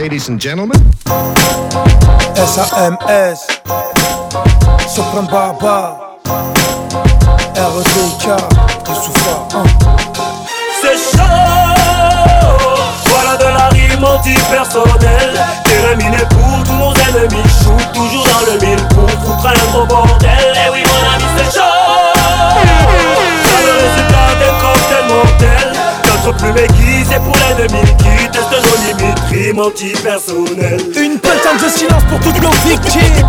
ladies and gentlemen. SAMS, Sopran Baba, RDK, Youssoufa. C'est chaud, voilà de la rime anti-personnelle. Terminé pour tous nos ennemis, shoot toujours dans le mille pour foutre un gros bordel. Eh oui mon ami c'est chaud, c'est le résultat d'un cocktail mortel. Notre plume aiguisée pour l'ennemi qui teste nos limites, rime anti-personnelle. Une putain de silence pour toutes nos victimes.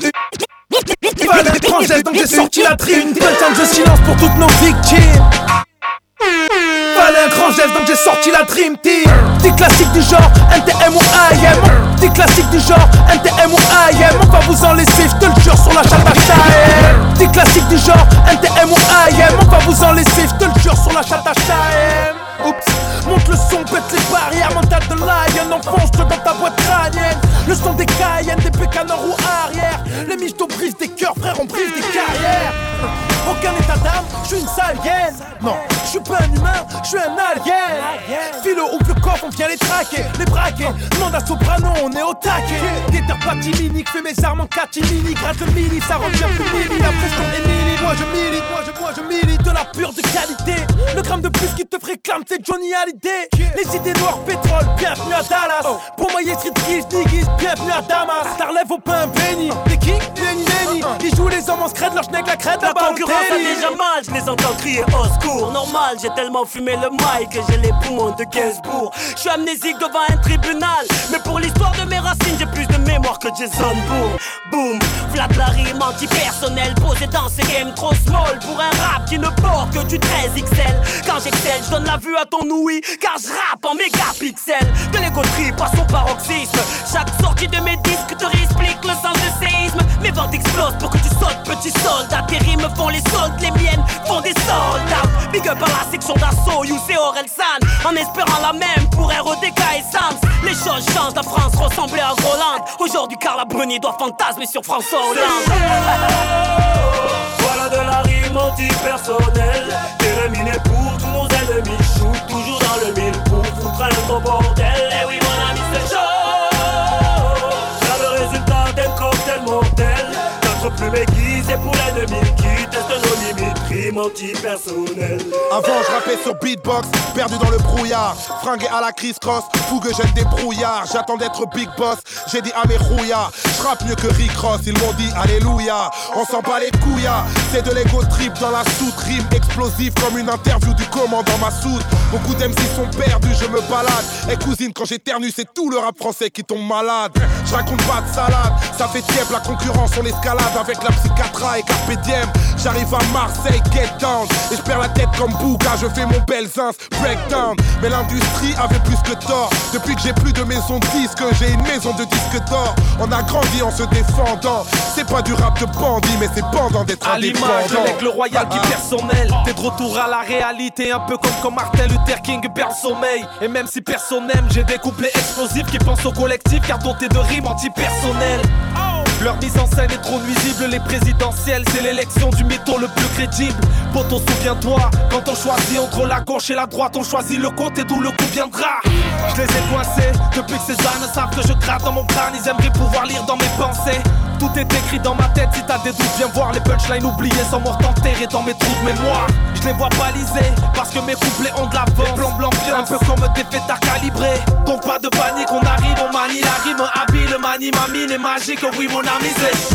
Fallait un grand geste donc j'ai sorti la trime. Une putain de silence pour toutes nos victimes. Fallait un grand geste donc j'ai sorti la Dream Team. Des classiques du genre NTM ou IM. Des classiques du genre NTM ou IM. On va vous en laisser, je te le jure, sur la chatte HM. Des classiques du genre NTM ou IM. On va vous en laisser, je te le jure, sur la chatte HM. Oups, monte le son, pète les barrières. Mental de lion, enfonce-toi dans ta boîte crânienne. Le son des Cayennes, des pécaneurs ou arrière. Les michtos brisent des cœurs, frère, on brise des carrières. Aucun état d'âme, je suis une sale hyène. Non, je suis pas un humain, je suis un alien. Philo ouvre le coffre, on vient les traquer, les braquer. Demande à Soprano, on est au taquet. Déterre pas timinique, fais mes armes en catimini. Gratte le mini, ça revient plus mini. La pression est mini, moi je milite, moi je milite. De la pure de qualité. Le gramme de plus qui te réclame, c'est Johnny Hallyday. Les idées noires, pétrole, bienvenue à Dallas. Pour moyer street kiss, niggas, bienvenue à Damas. Ça relève au pain béni. Des kicks, Benny. Ils jouent les hommes en scred, leur schneck, la crête, la concurrence a déjà mal, je les entends crier au secours. Normal, j'ai tellement fumé le mic que j'ai les poumons de Gainsbourg. Je suis amnésique devant un tribunal, mais pour l'histoire de mes racines, j'ai plus de mémoire que Jason Bourne. Boom, flat la rime anti-personnelle posée dans ce game trop small pour un rap qui ne porte que du 13XL. Quand j'excelle, je donne la vue à ton ouïe, car je rappe en mégapixels. De l'ego trip à son paroxysme, chaque sortie de mes disques te réexplique le sens du séisme. Mes ventes explosent pour que tu sautes, petit soldat. Tes rimes font les soldes, les miennes font des soldats. Big up à la section d'assaut, You c'est Orelsan. En espérant la même pour RODK et Sams. Les choses changent, la France ressemblait à Groland. Aujourd'hui Carla Bruni doit fantasmer sur François Hollande. Voilà de la rime anti-personnelle. Terminé pour tous nos ennemis. Shoot toujours dans le mille pour foutre un gros bordel. Eh oui mon ami c'est chaud. C'est le résultat d'un cocktail mortel. Notre plume aiguisée pour l'ennemi qui teste nos limites, rime anti-personnelle. Avant je rappais sur beatbox, perdu dans le brouillard. Fringué à la criss-cross, fougue jette des brouillards. J'attends d'être big boss, j'ai dit à mes rouillards. Je rappe mieux que Rick Ross, ils m'ont dit alléluia. On s'en bat les couillards, c'est de l'ego trip dans la soute. Rime explosive comme une interview du commandant Massoud. Beaucoup d'MC sont perdus, je me balade. Et cousine quand j'éternue c'est tout le rap français qui tombe malade. Je raconte pas de salade, ça fait tiep la concurrence, on l'escalade. Avec la psychiatra et Carpe Diem. J'arrive à Marseille, get down. Et je perds la tête comme Bouga, je fais mon Belzins, breakdown. Mais l'industrie avait plus que tort. Depuis que j'ai plus de maison de disques, j'ai une maison de disques d'or. On a grandi en se défendant. C'est pas du rap de bandit, mais c'est bandant d'être indépendant. À l'image avec le royal qui personnel. T'es de retour à la réalité, un peu comme Martin Luther King perd le sommeil. Et même si personne n'aime, j'ai des couplets explosifs qui pensent au collectif, car dotés de rimes anti-personnelles. Leur mise en scène est trop nuisible, les présidentielles, c'est l'élection du mytho le plus crédible. Poto, souviens-toi, quand on choisit entre la gauche et la droite, on choisit le côté d'où le coup viendra. Je les ai coincés, depuis que ces ânes savent que je gratte dans mon crâne, ils aimeraient pouvoir lire dans mes pensées. Tout est écrit dans ma tête, si t'as des doutes, viens voir les punchlines oubliées sont mortes enterrées dans mes trous de mémoire. Je les vois balisés, parce que mes couplets ont de l'avance. Blanc, un peu comme des fêtards calibrés. Donc pas de panique, on arrive, on manie la rime habile, manie ma mine est magique, oui mon ami c'est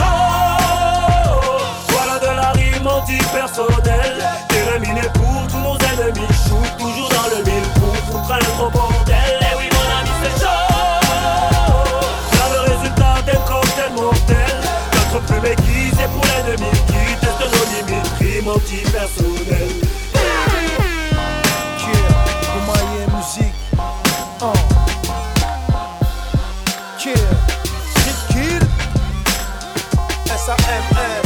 chaud. Voilà de la rime anti-personnelle. Terminé pour tous nos ennemis. Shoot toujours dans le mille pour foutre un gros bordel. Eh oui mon ami c'est chaud. C'est le résultat d'un cocktail mortel. Notre plume aiguisée pour l'ennemi qui teste nos limites, rime anti-personnelle. Musique. SAMS.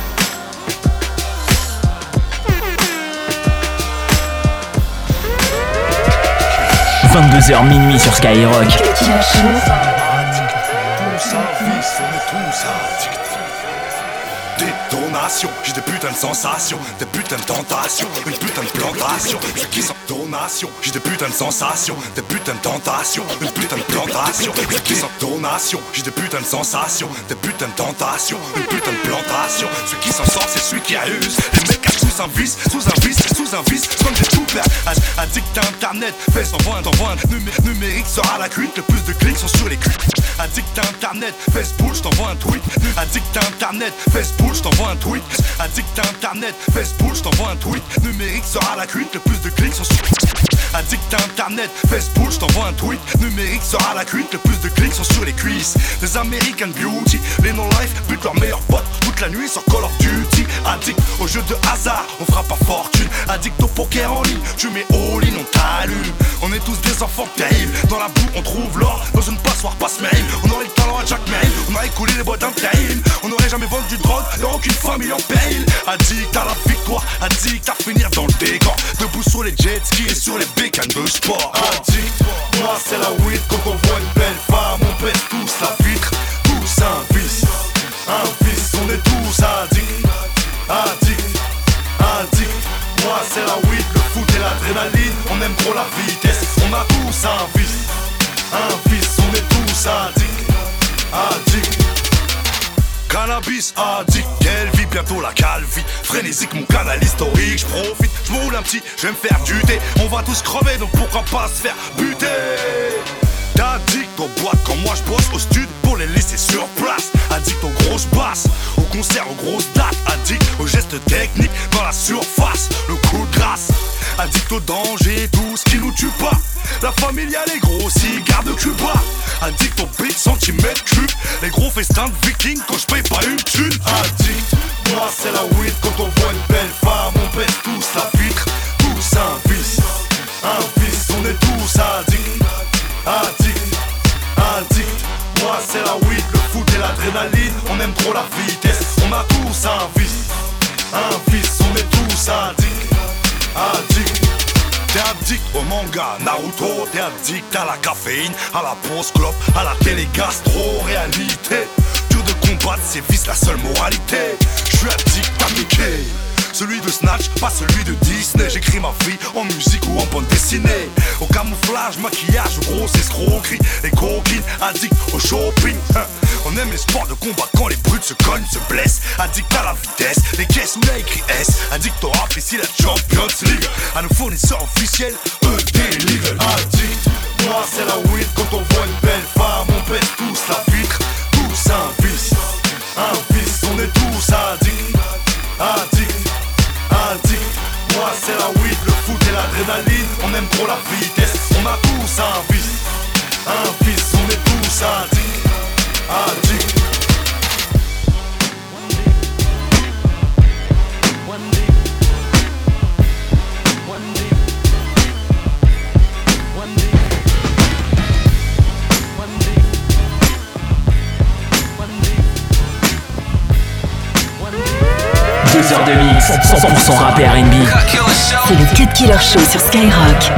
22h minuit sur Skyrock. Détonation, je j'ai des putains de sensations, des putains de tentations, une putain de plantation, ceux qui sont donations. J'ai des putains de sensations, des putains de tentations, une putain de plantation, ceux qui sont donations. J'ai des putains de sensations, des putains de tentations, une putain de plantation, ceux qui s'en sortent c'est celui qui abuse. Les mecs cachent sous un vice, comme des toupères. Addict à internet, fais t'envoie un numérique sera la cuite, le plus de clics sont sur les culs. Addict à internet, Facebook, je t'envoie un tweet. Addict à internet, Facebook, je t'envoie un tweet. Addict à internet, Facebook, je t'envoie un tweet. Numérique sera la cuite, le plus de clics sont sur. Addict à internet, Facebook, je t'envoie un tweet. Numérique sera la cuite, le plus de clics sont sur les cuisses. Des American Beauty, les no-life butent leurs meilleurs potes toute la nuit sur Call of Duty. Addict aux jeux de hasard, on fera pas fortune. Addict au poker en ligne, tu mets all-in, on t'allume. On est tous des enfants terribles, dans la boue on trouve l'or. Dans une passoire passe-mail, on aurait le talent à Jack Mail. On aurait coulé les boîtes d'intérim, on aurait jamais vendu de drogue, et aucune famille en péril. Addict à la victoire, addict à finir dans le décor. Debout sur les jet skis et sur les bécanes de sport. Addict, moi c'est la weed, quand on voit une belle femme, on pète tous la vitre. Tous un vice, on est tous addicts. Addict, addict, moi c'est la weed, le foot et l'adrénaline. On aime trop la vitesse, on a tous un vice, on est tous addicts. Addict, cannabis addict, quelle vie, bientôt la calvie. Frénésique, mon canal historique, j'profite, j'm'roule un petit, j'vais me faire du thé. On va tous crever, donc pourquoi pas se faire buter. Addict aux boîtes quand moi j'bosse au stud pour les laisser sur place. Addict aux grosses basses, aux concerts, aux grosses dates. Addict aux gestes techniques dans la surface, le coup de grâce. Addict au danger, tout ce qui nous tue pas. La familiale, les gros cigares de Cuba. Addict aux big centimètres cubes, les gros festins de vikings quand j'paye pas une thune. Addict, moi c'est la weed, quand on voit une belle femme, on pète tous la vitre. Tous un vice, on est tous addicts. Addict, addict, moi c'est la weed, le foot et l'adrénaline. On aime trop la vitesse, on a tous un vice, on est tous addicts. Addict, t'es addict au manga Naruto, t'es addict à la caféine, à la pause clope, à la télé gastro, réalité. Dur de combattre, c'est vice la seule moralité. Je suis addict à Mickey, celui de Snatch, pas celui de Disney. J'écris ma vie en musique ou en bande dessinée. Au camouflage, maquillage, grosse escroquerie. Les coquines, addict au shopping. On aime les sports de combat quand les brutes se cognent, se blessent. Addict à la vitesse, les caisses où il y a écrit S. Addict au rap, ici la Champions League. À nos fournisseurs officiels, ED Legal. Addict, moi c'est la weed, quand on voit une belle femme, on pète tous la vitre. Tous un vice, on est tous addicts. Addict, addict, moi c'est la weed, le foot et l'adrénaline. On aime trop la vitesse, on a tous un vice, on est tous addicts. Addict. Deux heures de mix, 100% rap et R&B. C'est le Cut Killer Show sur Skyrock.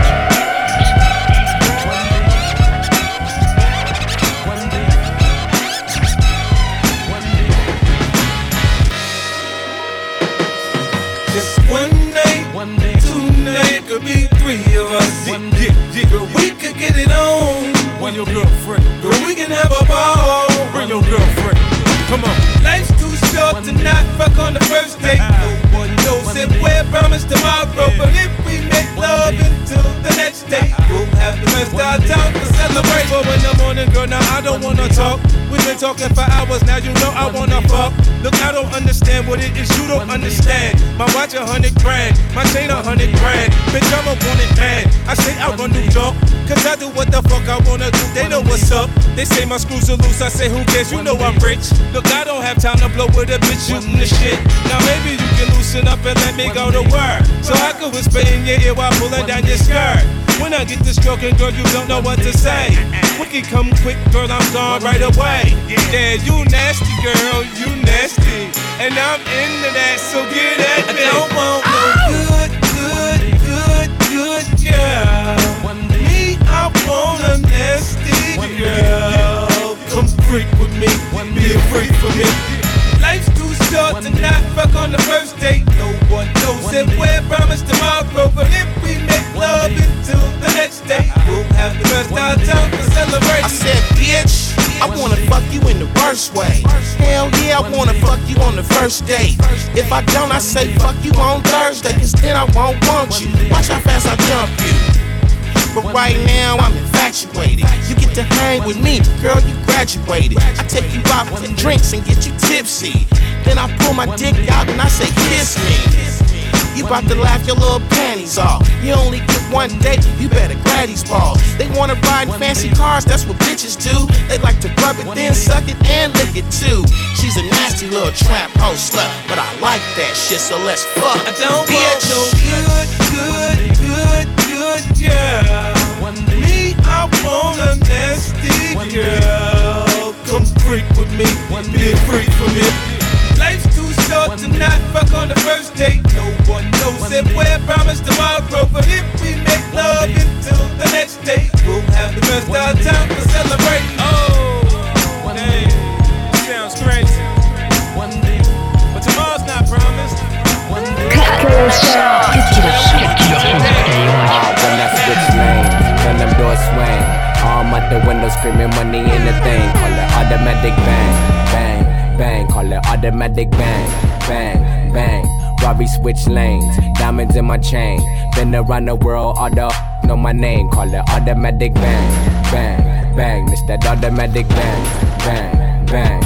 Could be three of us. But we could get it on. Bring your girlfriend. But we can have a ball. Bring your girlfriend. Come on. Life's too short to not fuck on the first date. No one knows if we're promised tomorrow. But if we make love until the next day, we'll have the best our time to celebrate. But in the morning, girl, now I don't wanna talk. We've been talking for hours, now you know I wanna fuck. Look, I don't understand what it is you don't understand. My watch $100 grand, my chain $100 grand. Bitch, I'm a wanted man. I say I run New York, cause I do what the fuck I wanna do. They know what's up. They say my screws are loose, I say who cares, you know I'm rich. Look, I don't have time to blow with a bitch shooting the shit. Now maybe you can loosen up and let me go to work, so I can whisper in your ear while pulling down your skirt. When I get to stroking, girl, you don't know what to say. Quick, come quick, girl, I'm gone right away. Yeah, you nasty, girl, you nasty. And I'm into that, so get at me. I don't want no good girl. Me, I want a nasty girl. Come freak with me, be a freak for me. Life's too short short tonight, fuck on the first date. No one knows if we're promised tomorrow, but if we make love until the next day, we'll have the best our time for celebrating. I said, bitch, I wanna fuck you in the worst way. Hell yeah, I wanna fuck you on the first date. If I don't, I say fuck you on Thursday, cause then I won't want you. Watch how fast I jump you. But right now I'm infatuated. You get to hang with me, girl, you graduated. I take you out for drinks and get you tipsy. Then I pull my dick out and I say kiss me. You bout to laugh your little panties off. You only get one date, you better grab these balls. They wanna ride in fancy cars, that's what bitches do. They like to rub it, then suck it, and lick it too. She's a nasty little trap hoe slut, but I like that shit, so let's fuck. I don't bitch. want no good girl. Me, I want a nasty girl. Come freak with me, be a freak for me. Life's too short to not fuck on the first date. No one knows if we're promised tomorrow, but if we make love until the next day, we'll have the best our time for celebrating. Oh, hey, sounds crazy. But tomorrow's not promised. When that switch lanes, when them doors swing, arm out the window screaming money in the thing. Call it automatic bang, bang, bang. Call it automatic bang, bang, bang. Robbie switch lanes, diamonds in my chain. Been around the world, all the know my name. Call it automatic bang, bang, bang. It's that automatic bang, bang, bang.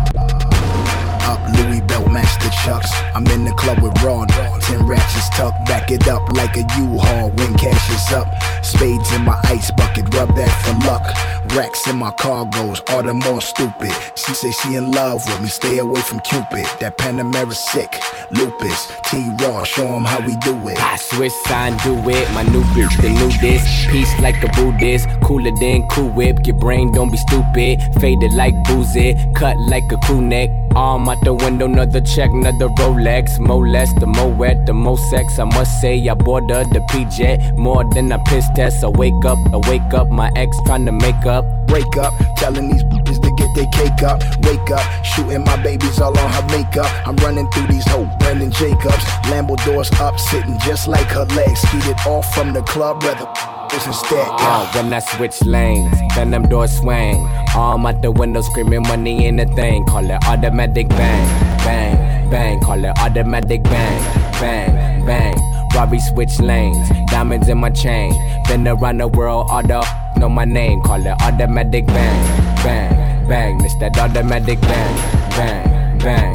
Up Louis belt match the chucks. I'm in the club with Ron. 10 ratchets tucked, back it up like a U-Haul when cash is up. Spades in my ice bucket, rub that for luck. Racks in my cargoes, all the more stupid. She say she in love with me, stay away from Cupid. That Panamera sick, lupus, T-Raw, show him how we do it. I switch sign, do it, my new bitch, the new disc. Peace like a Buddhist, cooler than Cool Whip. Your brain don't be stupid, faded like boozy, cut like a crew neck. Arm out the window, another check, another Rolex. More less, the more wet, the more sex. I must say I boarded the P-Jet more than a piss test. I wake up, my ex trying to make up. Break up, telling these bitches to get their cake up. Wake up, shooting my babies all on her makeup. I'm running through these hoes, Brandon Jacobs. Lambo doors up, sitting just like her legs. Skeeted off from the club, rather instead. When I switch lanes, then them doors swing. Arm out the window screaming money in the thing. Call it automatic bang, bang, bang. Call it automatic bang, bang, bang. Robbie switch lanes, diamonds in my chain. Been around the world, all the know my name. Call it automatic bang, bang, bang. It's that automatic bang, bang, bang.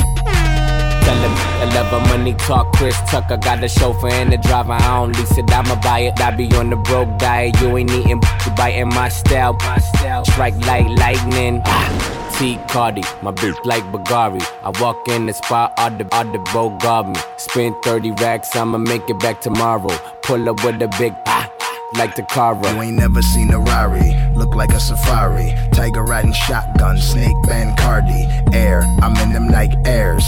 Tell him I love her money talk, Chris Tucker. Got a chauffeur and a driver, I don't lease it, I'ma buy it. I be on the broke diet, you ain't eating, you biting my style. Strike like lightning. T. Cardi, my bitch like Bagari. I walk in the spot, all the boat guard me. Spend 30 racks, I'ma make it back tomorrow. Pull up with a big like the car. You ain't never seen a Rari, look like a safari. Tiger riding shotgun, snake band Cardi. Air, I'm in them Nike Airs.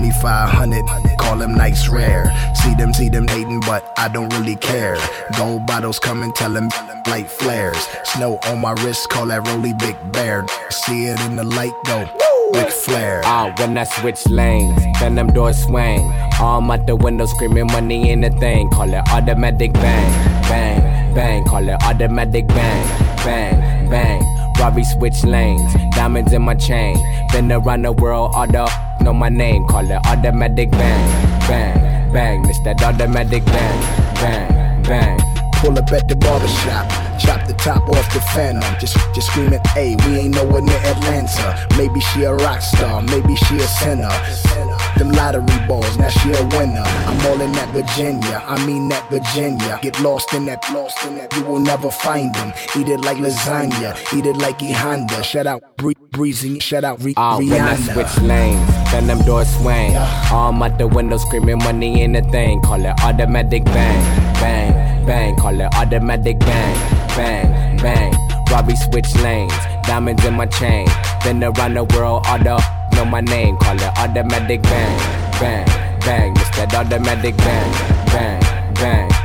2500, call them nights rare. See them hating, but I don't really care. Gold bottles coming, tell them light flares. Snow on my wrist, call that Rolly Big Bear. See it in the light, go Ric Flair. When I switch lanes, then them doors swing. Arm out the window screaming money in the thing. Call it automatic bang, bang, bang. Call it automatic bang, bang, bang. Robbie switch lanes, diamonds in my chain. Been around the world, all the know my name. Call it automatic bang, bang, bang. It's that automatic bang, bang, bang. Pull up at the barbershop, chop the top off the phantom. Just screaming, hey, we ain't nowhere near Atlanta. Maybe she a rock star, maybe she a sinner. Them lottery balls, now she a winner. I'm all in that Virginia, I mean that Virginia. Get lost in that, you will never find them. Eat it like lasagna, eat it like E Honda. Shout out Breezy, shout out Rihanna. When I switch lanes, then them doors swing. Arm out the window screaming money in the thing. Call it automatic bang, bang, bang. Call it automatic bang, bang, bang. Robbie switch lanes, diamonds in my chain. Been around the world, all the know my name. Call it automatic bang, bang, bang. It's that automatic bang, bang, bang.